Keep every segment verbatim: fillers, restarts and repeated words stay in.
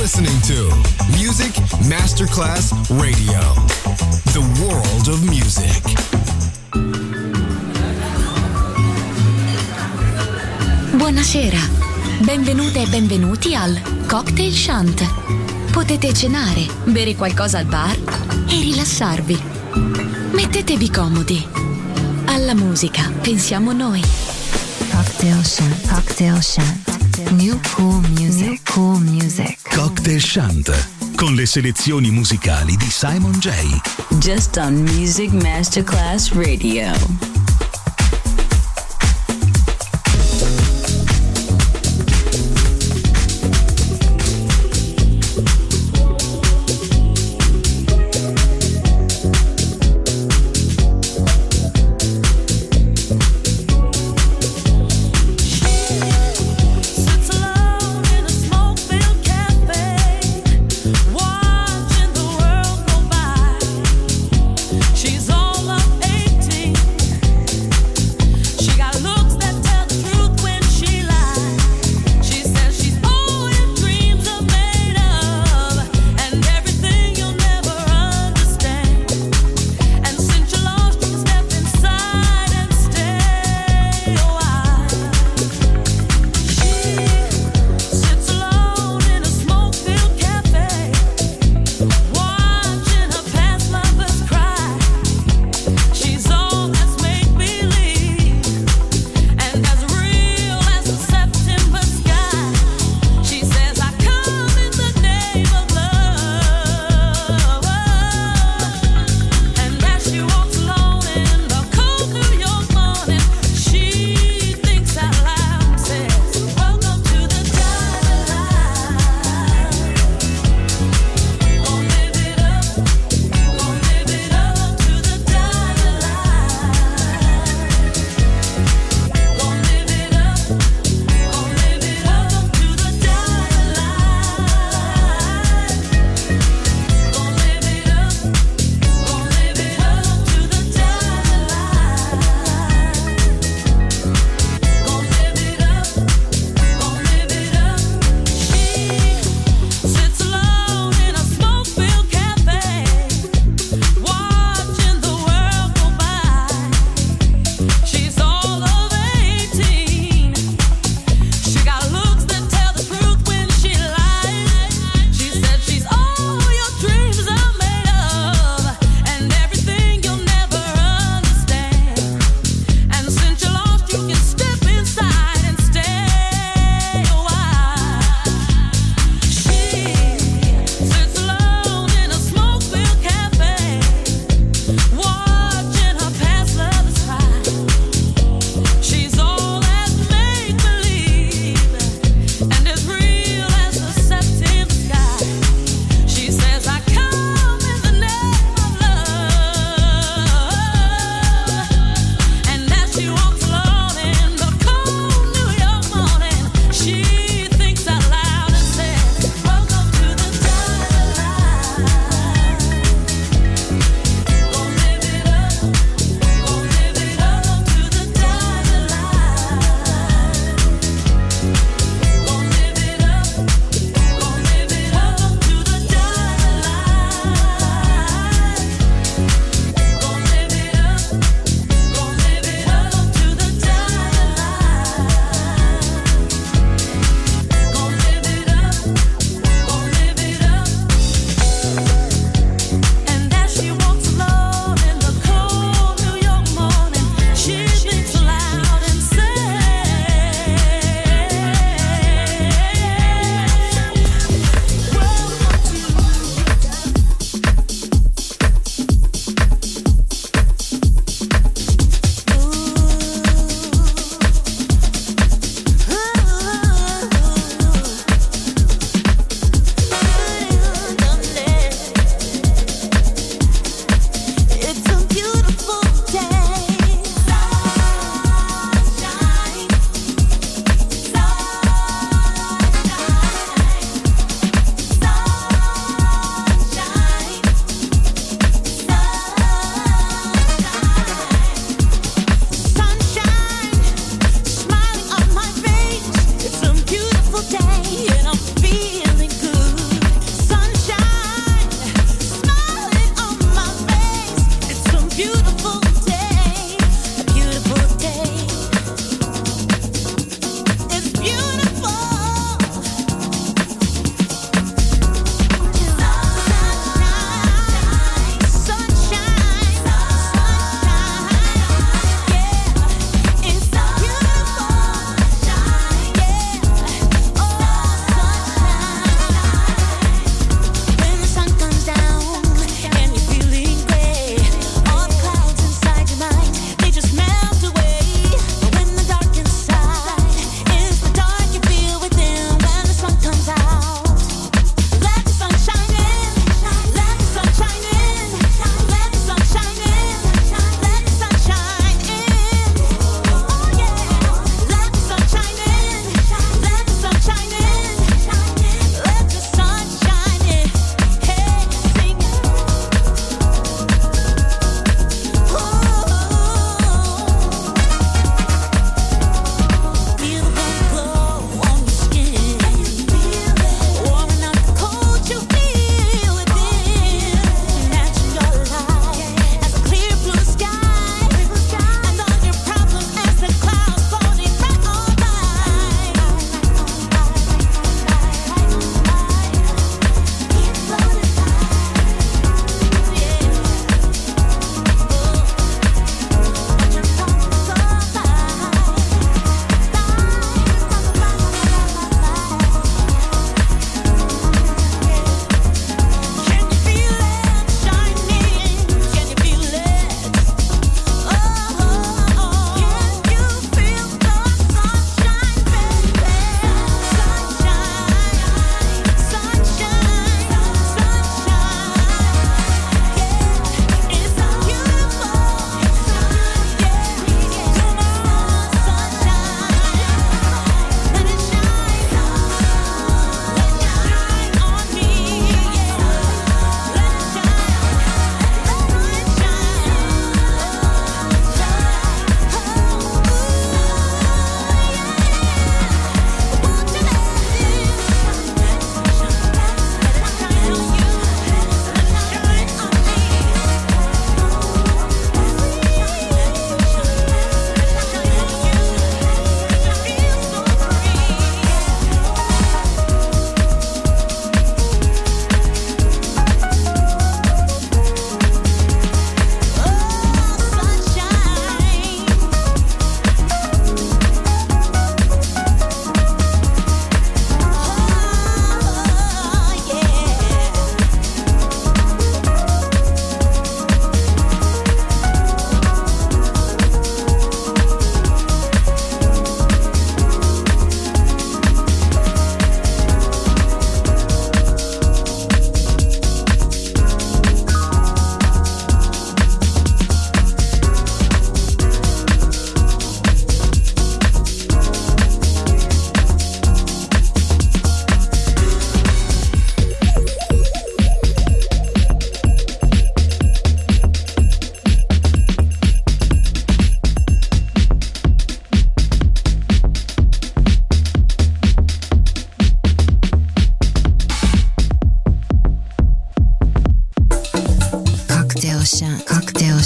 listening to Music Masterclass Radio, the world of music. Buonasera, benvenute e benvenuti al Cocktail Shant. Potete cenare, bere qualcosa al bar e rilassarvi. Mettetevi comodi. Alla musica pensiamo noi. Cocktail Shant, Cocktail Shant. New cool music, New cool music. Cocktail Shant, con le selezioni musicali di Simon J. Just on Music Masterclass Radio. She's all of eighteen.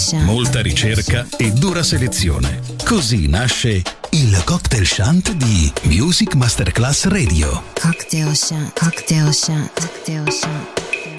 Ocean. Molta ricerca e dura selezione. Così nasce il Cocktail Shant di Music Masterclass Radio. Cocktail Shant. Cocktail Shant. Cocktail Shant.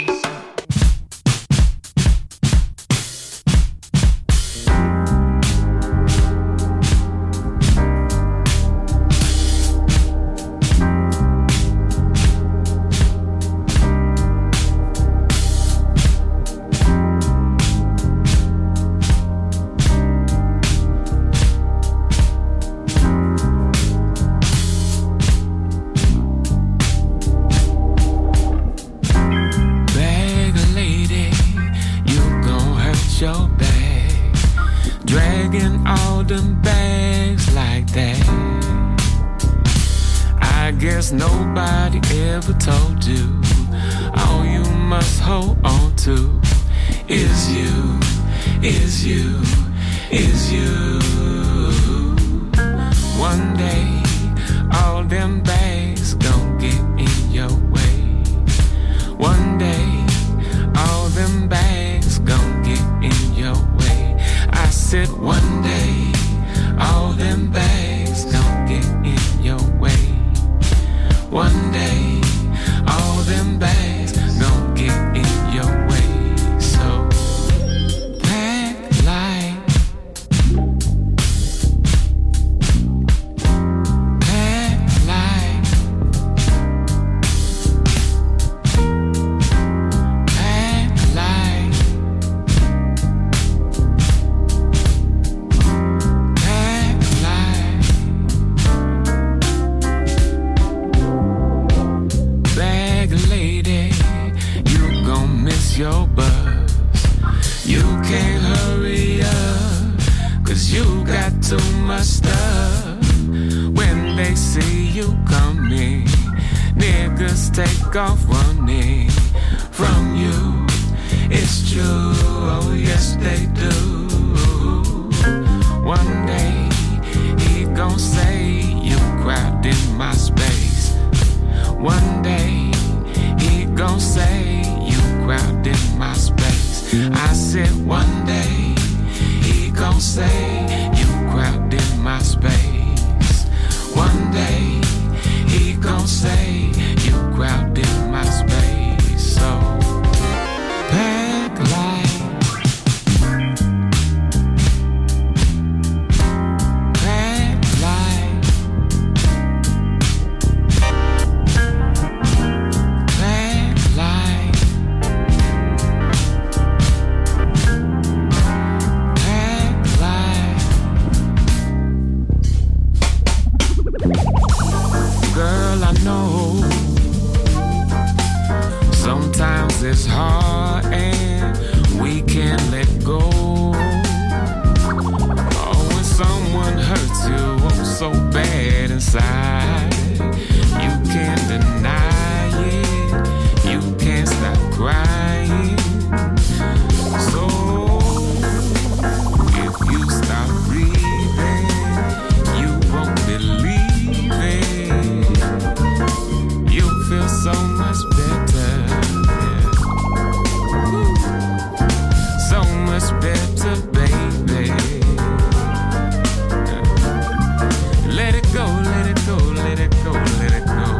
Nobody ever told you all you must hold on to is you, is you, is you. One day all them bags gon' get in your way. One day all them bags gon' get in your way. I said one day all them bags gon' get in your way. One day, all them bags gon' get in your way. So, pack light, pack light, pack light, pack light. Bag lady, you gon' miss your bus. You can't hurry up, cause you got too much stuff. When they see you coming, niggas take off running from you. It's true, oh yes they do. One day, he gon' say you crowded my space. One day, he gon' say you crowded my space. I said one day, he gon' say you crowded my space. One day, he gon' say you crowded my space. So, pack light, pack light, pack light, pack light. Girl, I know sometimes it's hard and we can't let go. Oh, when someone hurts you, oh, so bad inside, you can't deny it, you can't stop crying. So, if you stop breathing, you won't believe it. You'll feel so much better, yeah. Woo. So much better, baby. Let it go, let it go, let it go, let it go.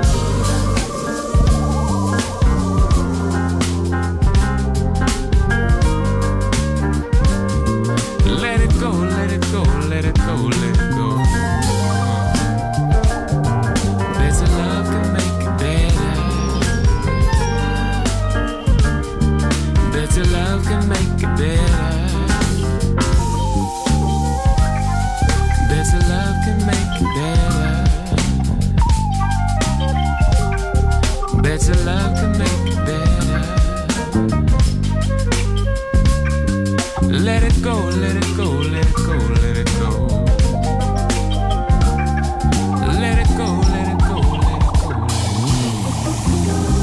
Let it go, let it go, let it go, let it go. Better love can make it better. Better love can make it better. Better love can make it better. Better love can make it better. Let it go, let it go, let it go, let it go. Let it go, let it go, let it go, let it go.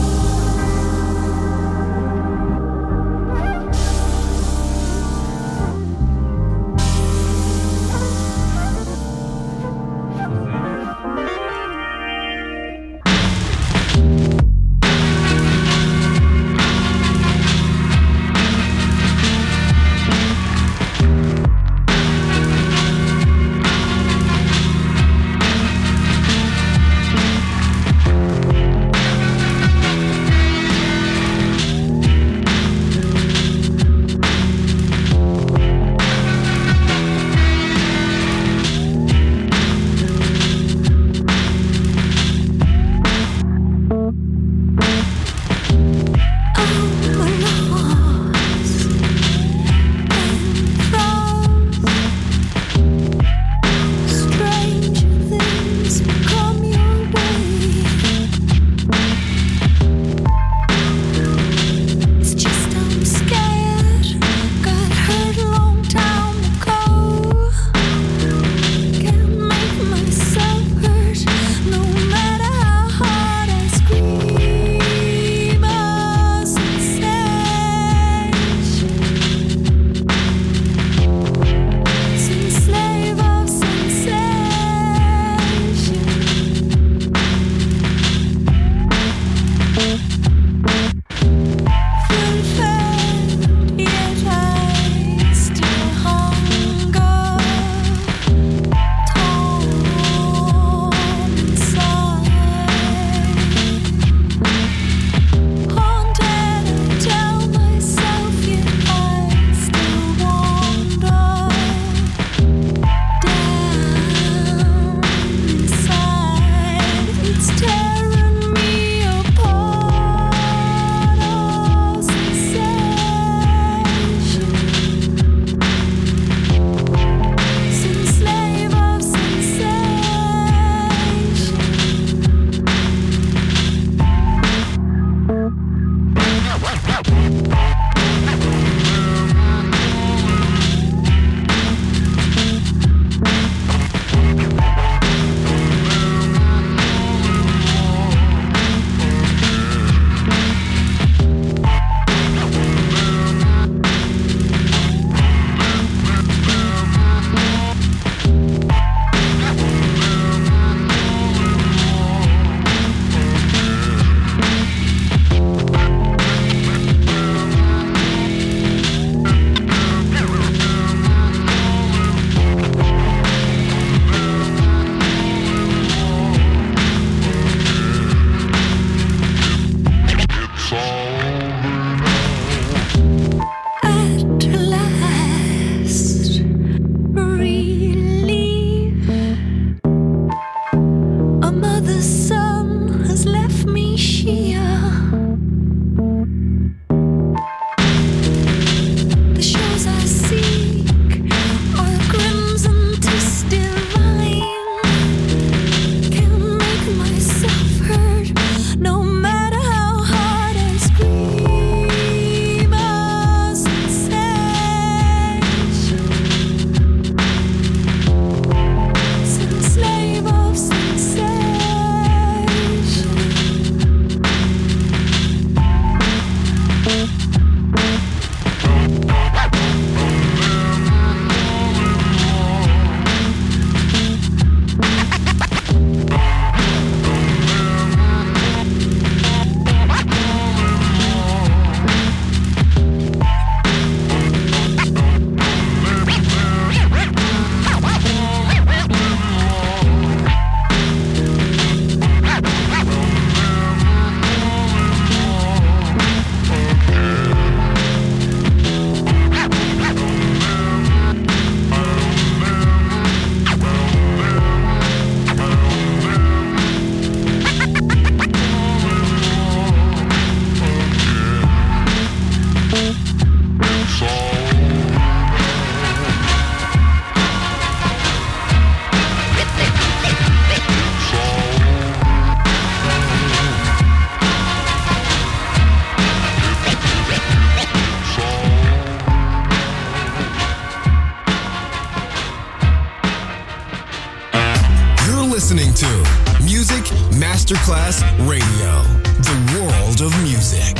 listening to Music Masterclass Radio, the world of music.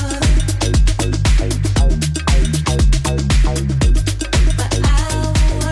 But I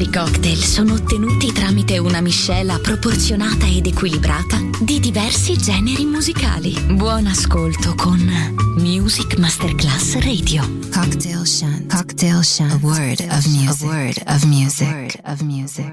migliori cocktail sono ottenuti tramite una miscela proporzionata ed equilibrata di diversi generi musicali. Buon ascolto con Music Masterclass Radio. Cocktail Shant. Cocktail Shant. A word of music. A word of music. A word of music.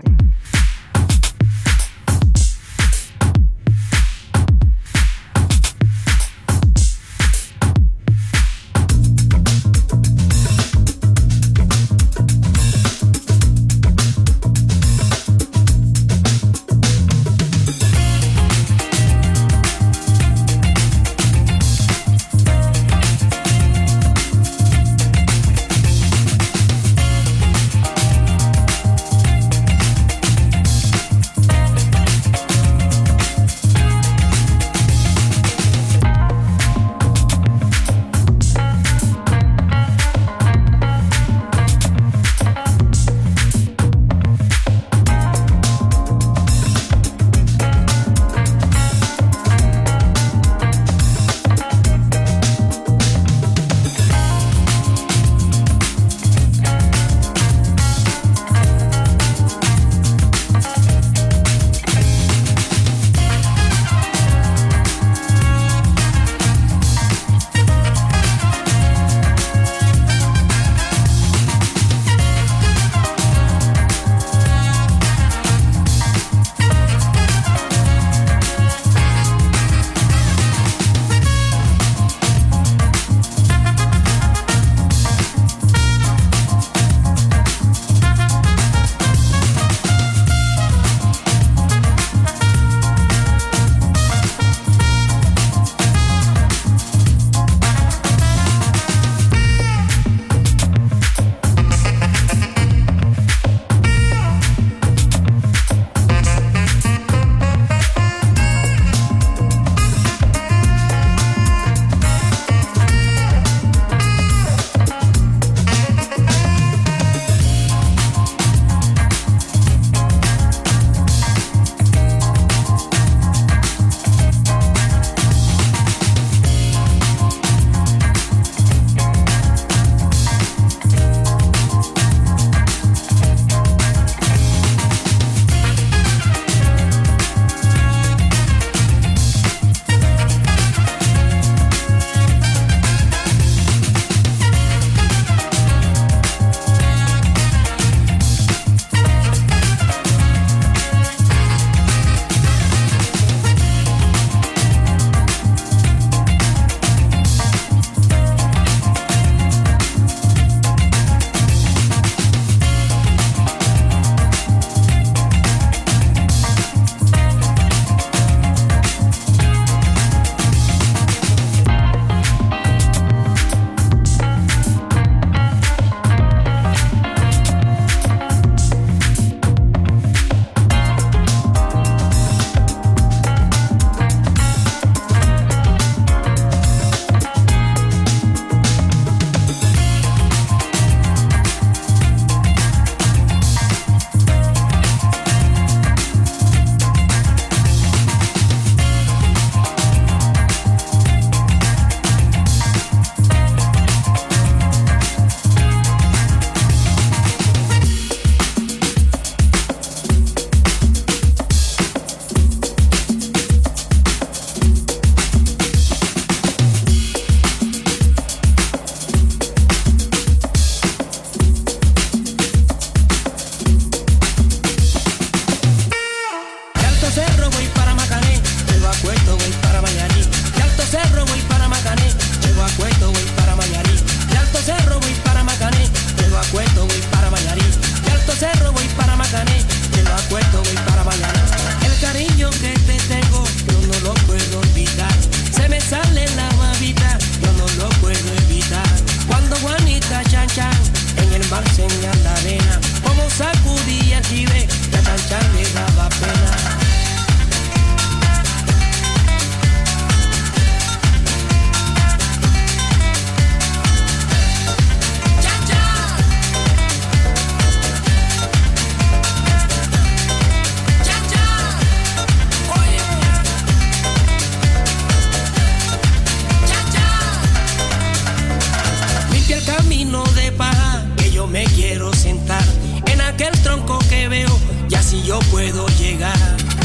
yo puedo llegar.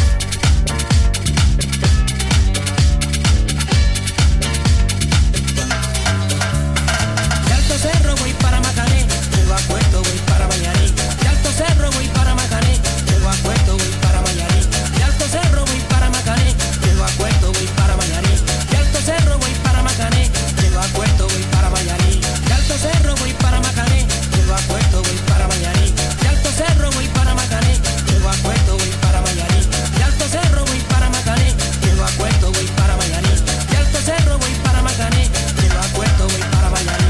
De Alto Cerro voy para Macané, llego a Puerto voy para Mayarí. De Alto Cerro voy para Macané, llego a Puerto voy para Mayarí. De Alto Cerro voy para Macané, llego a Puerto voy para Mayarí. De Alto Cerro voy para Macané, llego a Puerto voy para Mayarí. De Alto Cerro voy para Macané, llego a Puerto voy para Mayarí. De Alto Cerro voy para Macané, llego a Puerto voy para Mayarí. De Alto Cerro voy para Macané, llego a Puerto voy para Mayarí. De Alto Cerro voy para Macané, llego a Puerto voy para Mayarí.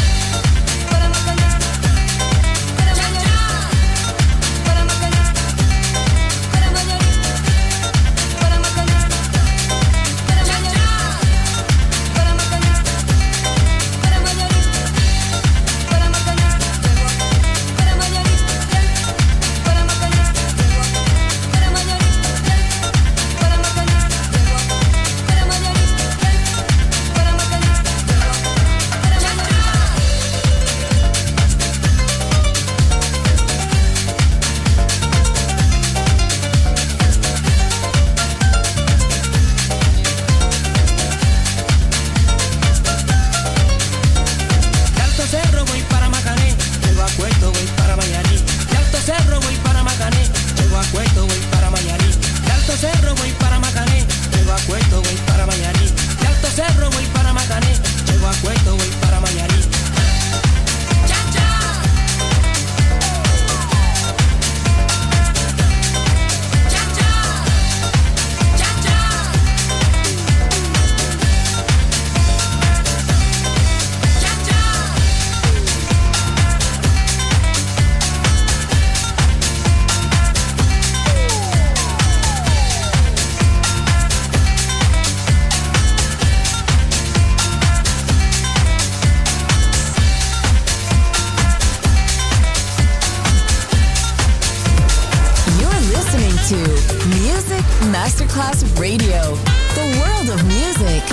Masterclass Radio, the world of music.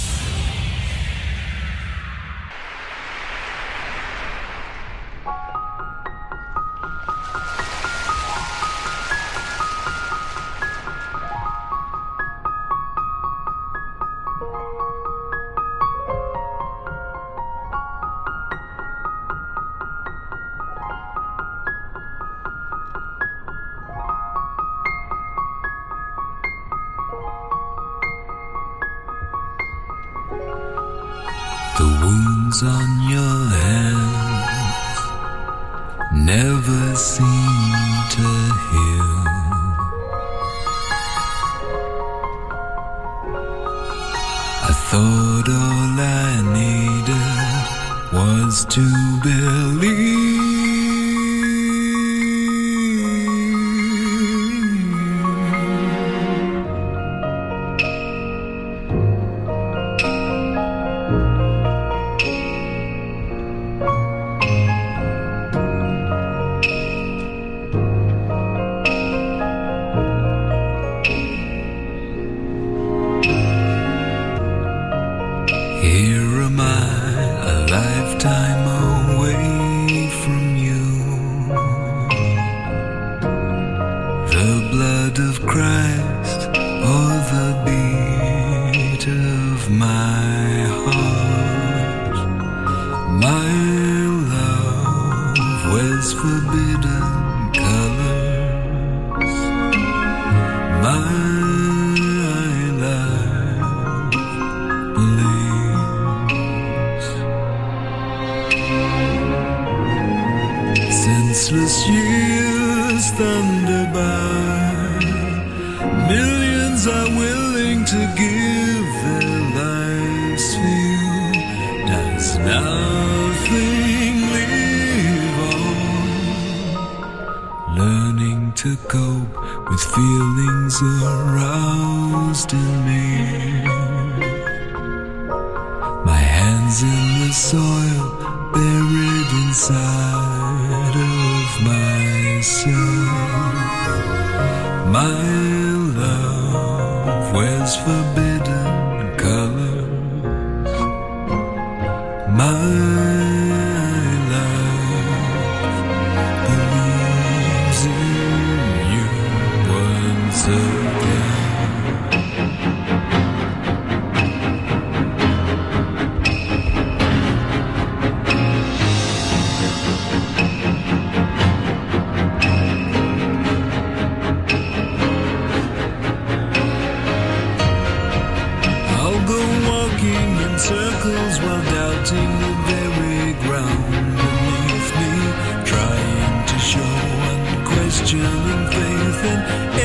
On your hands never seem to heal. I thought all I needed was to believe. Believes in you. genuine faith in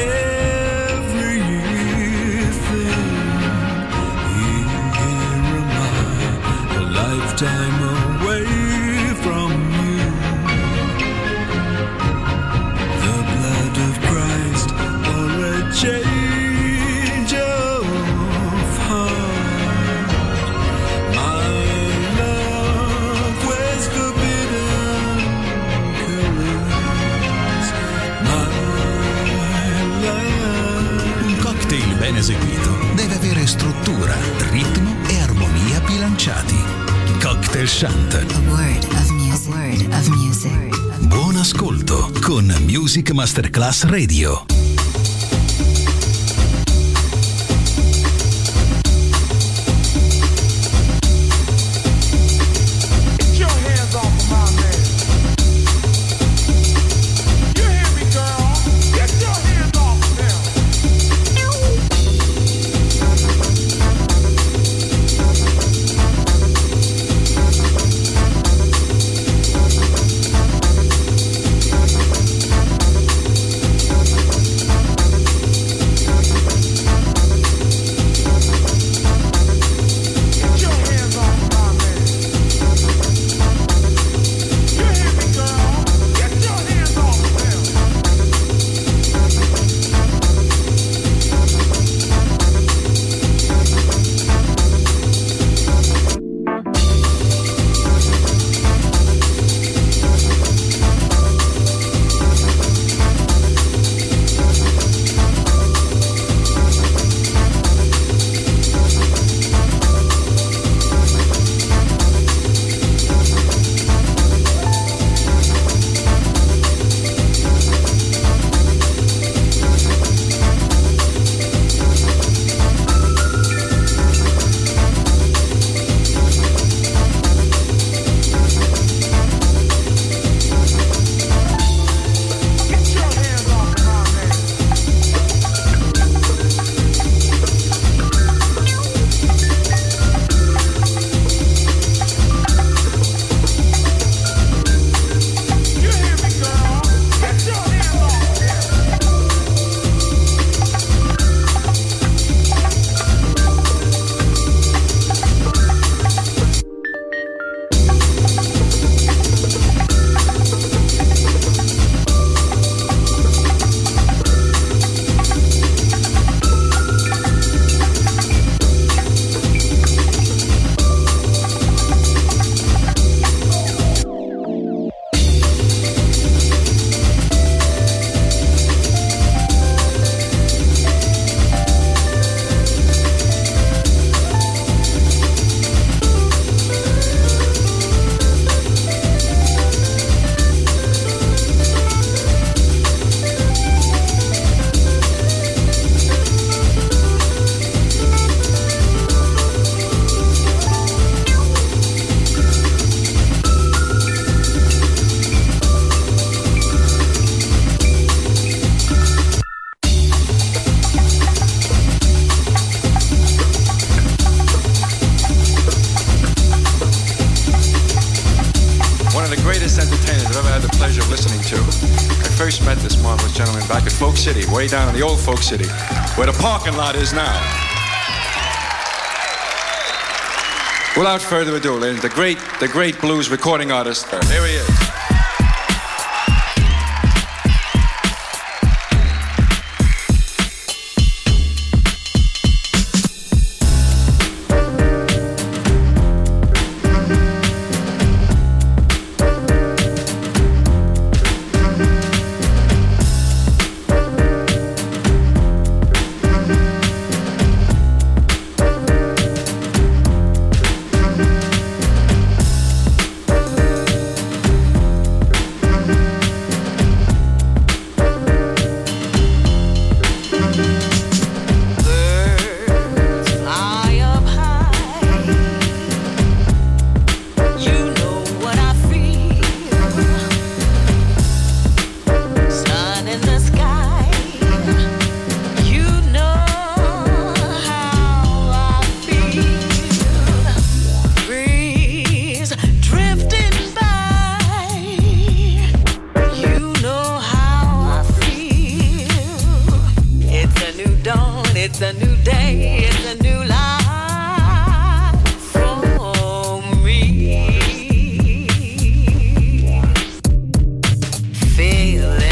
everything. Here am I, a lifetime away from you. The blood of Christ or a change of heart. My love wears forbidden colors. My love. Un cocktail ben eseguito deve avere struttura, ritmo e armonia bilanciati. Cocktail Shant. A word of music. A word of music. Buon ascolto con Music Masterclass Radio. City, way down in the old Folk City, where the parking lot is now. Without further ado, ladies, the great, the great blues recording artist. There he is. it's a new day, it's a new life for me. Feeling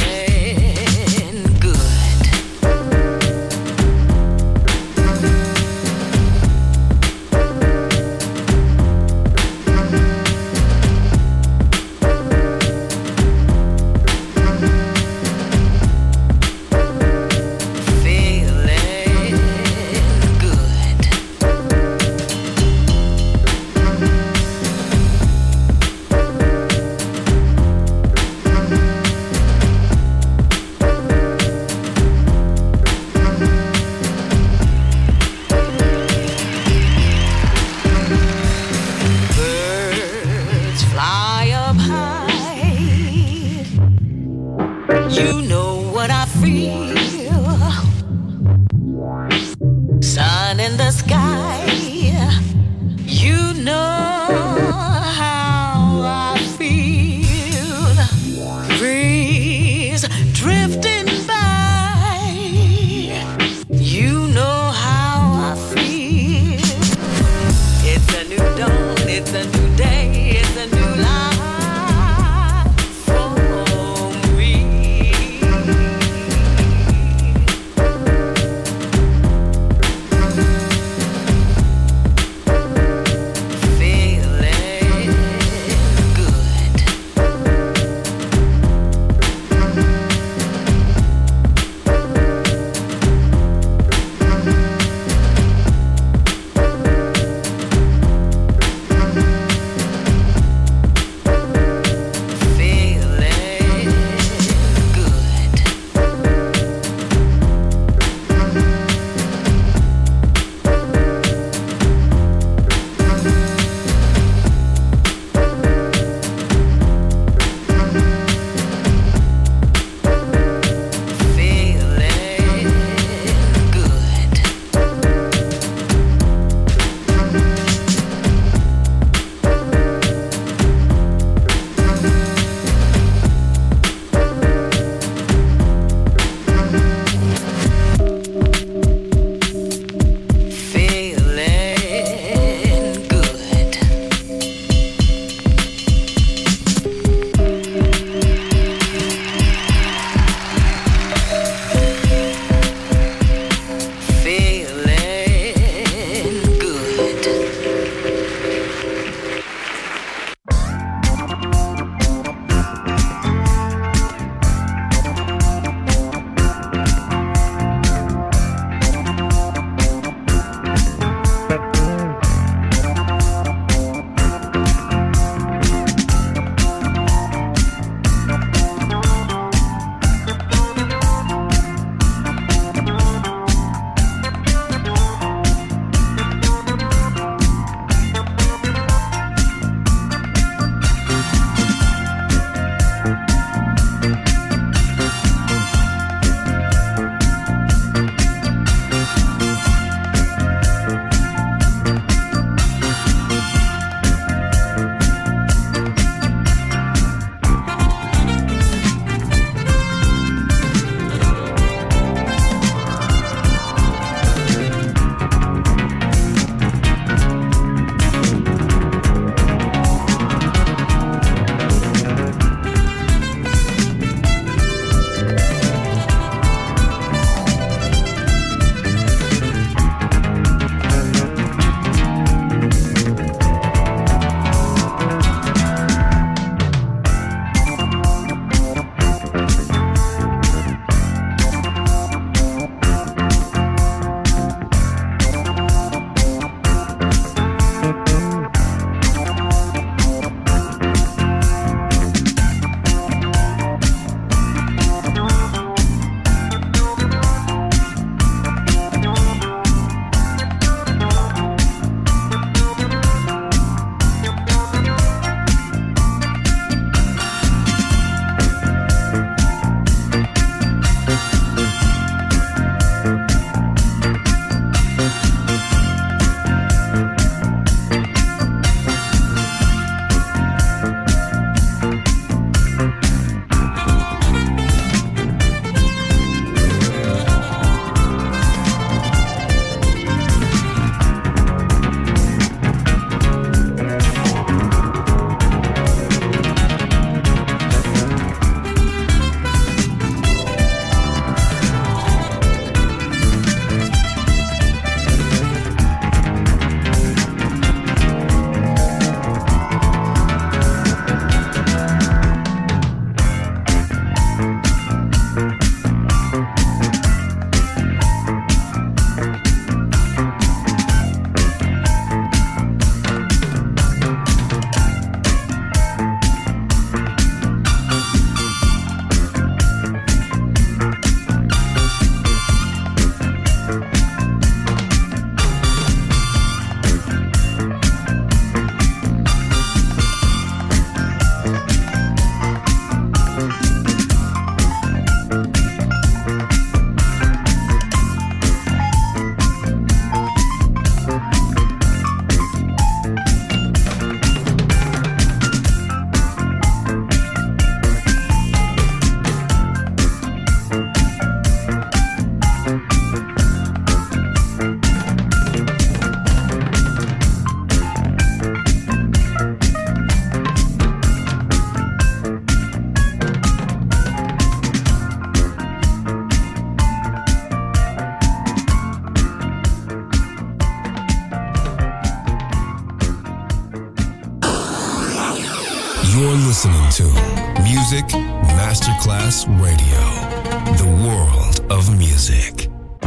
You're listening to Music Masterclass Radio, the world of music.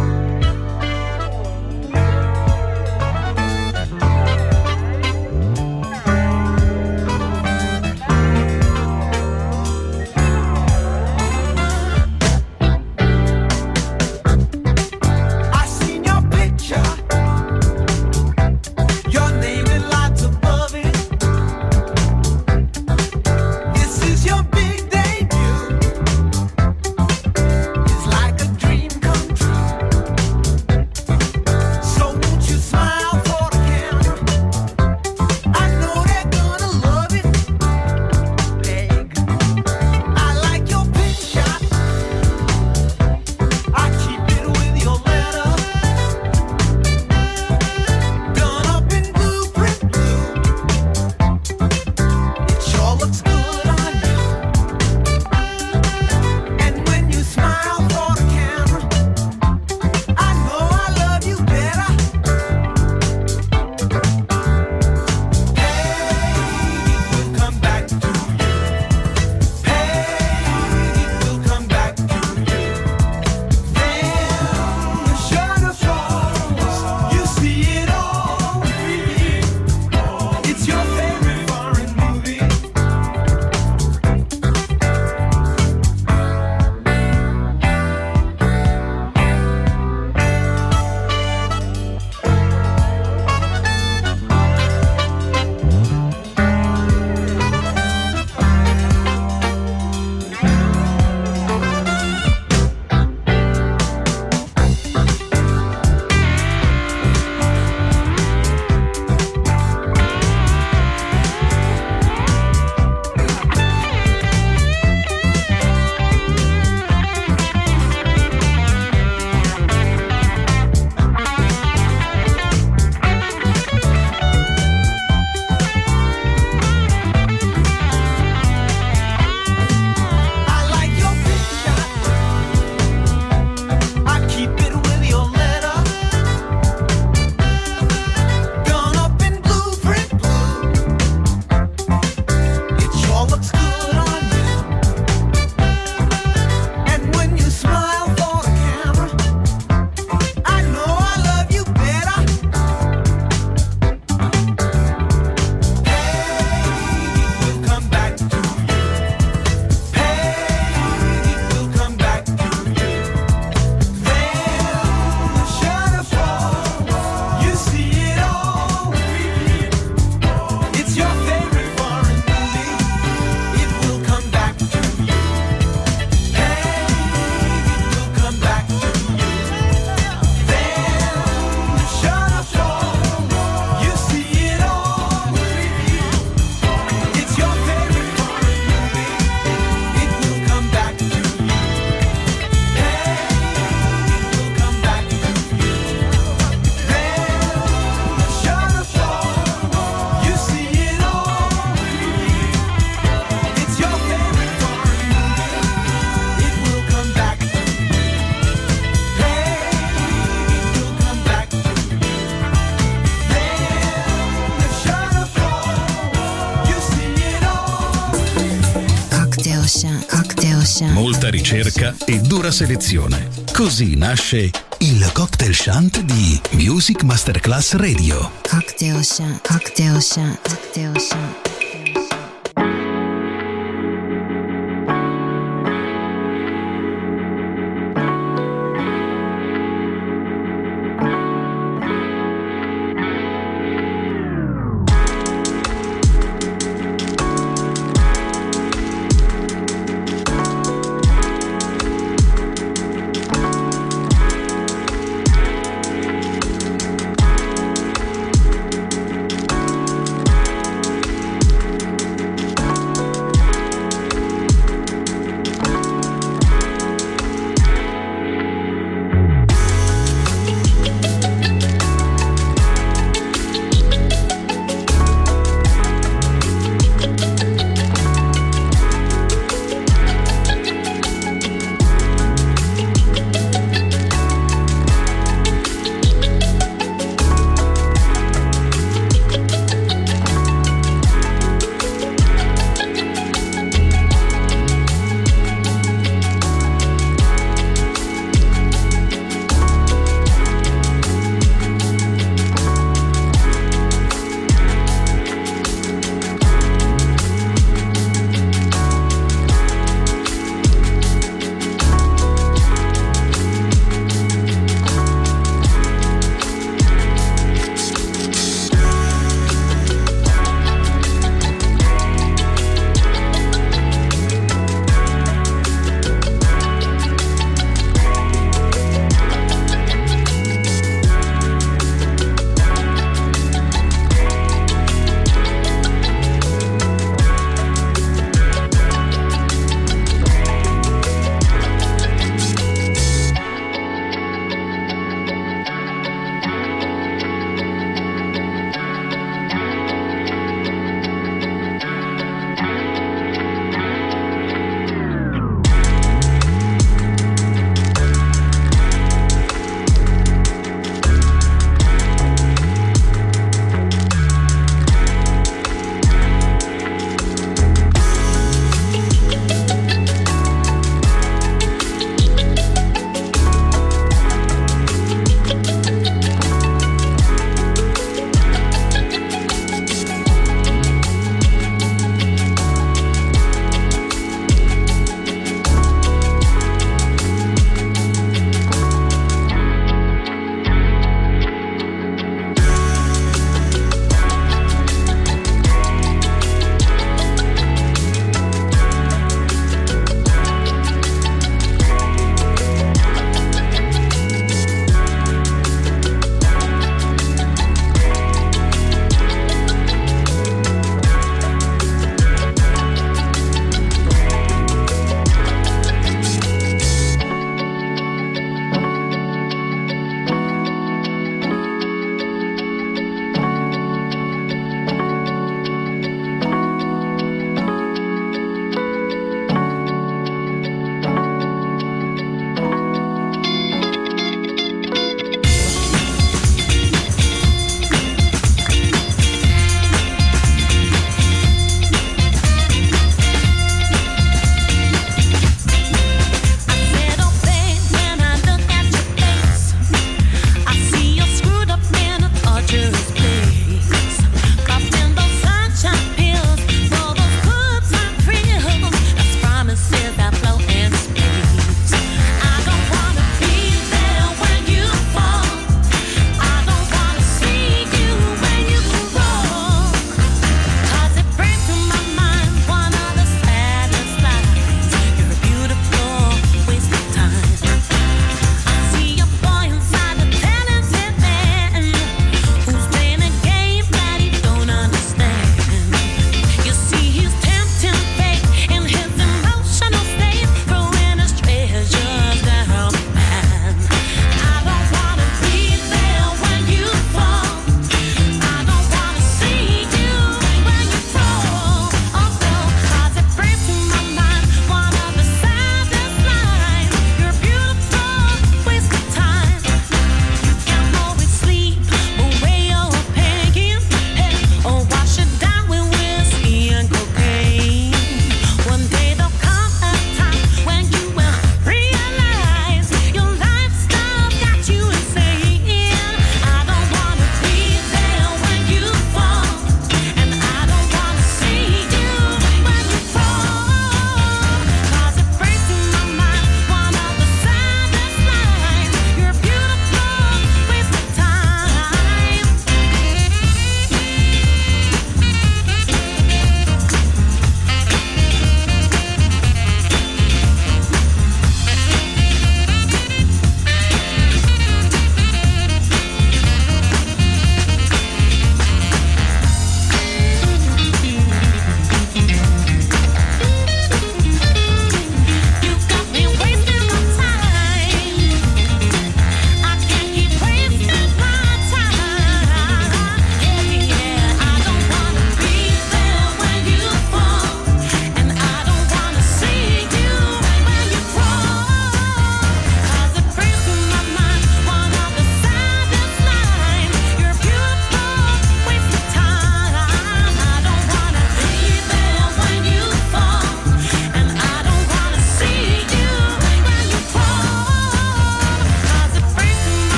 Molta ricerca e dura selezione. Così nasce il Cocktail Shant di Music Masterclass Radio. Cocktail Shant, Cocktail Shant, Cocktail Shant.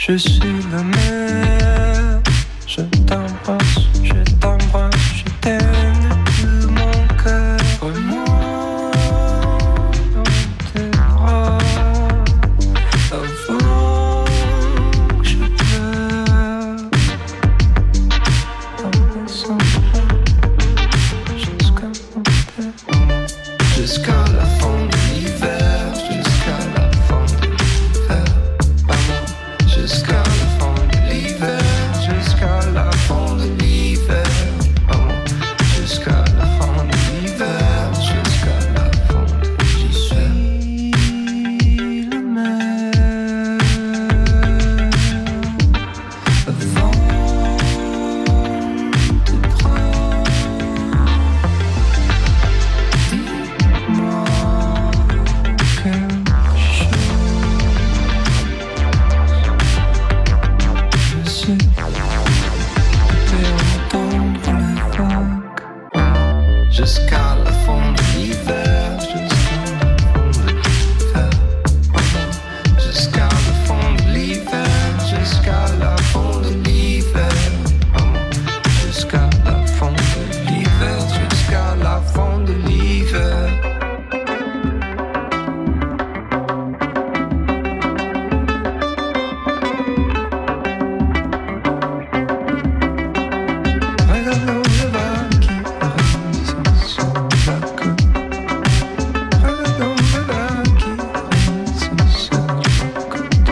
Je suis la mer, je t'embrasse, je t'embrasse, je t'aime de mon cœur. Moi dans tes bras, avant que je pleure. En laissant jusqu'à mon père, jusqu'à la fin de l'hiver, jusqu'à la fin de l'hiver. Jusqu'à la fin de l'hiver, jusqu'à la fin de l'hiver, maman. Jusqu'à la fin de l'hiver, jusqu'à la fin de l'hiver. Je suis la mer avant de prendre. Dis-moi quelque chose. Je sais, entendre les vagues jusqu'à la fin de l'hiver, jusqu'à la fin de l'hiver, jusqu'à la fin de l'hiver, jusqu'à la fin de l'hiver, jusqu'à la fin de l'hiver. Regardons le vent qui rit sur la côte. Regardons le vent qui rit sur la côte.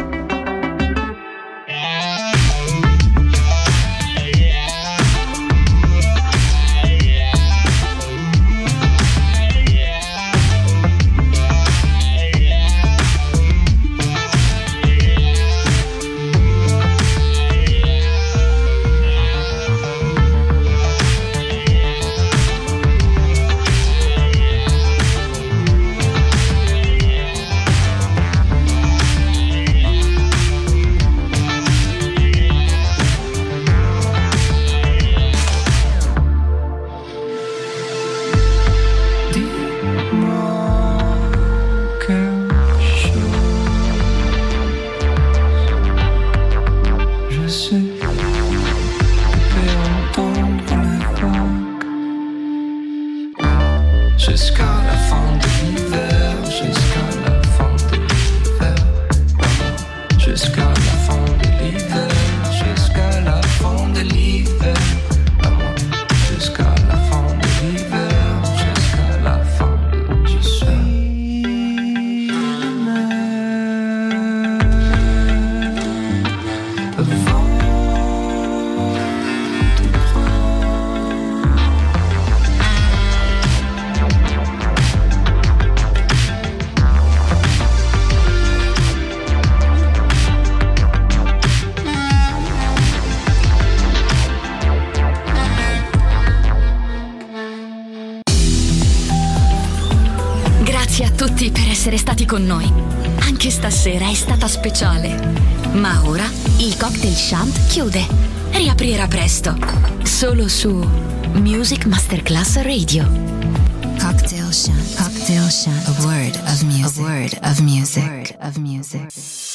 Dis-moi quelque chose. Je sais, tu peux entendre les vagues jusqu'à la fin de l'hiver, jusqu'à la fin de l'hiver, jusqu'à la fin de l'hiver, jusqu'à la fin de l'hiver, jusqu'à la fin de l'hiver, jusqu'à la fin de je suis la mer avant de prendre. Grazie a tutti per essere stati con noi. Anche stasera è stata speciale. Ma ora il Cocktail Shant chiude. Riaprirà presto. Solo su Music Masterclass Radio. Cocktail Shant. Cocktail Shant. A word of music. A word of music. A word of music.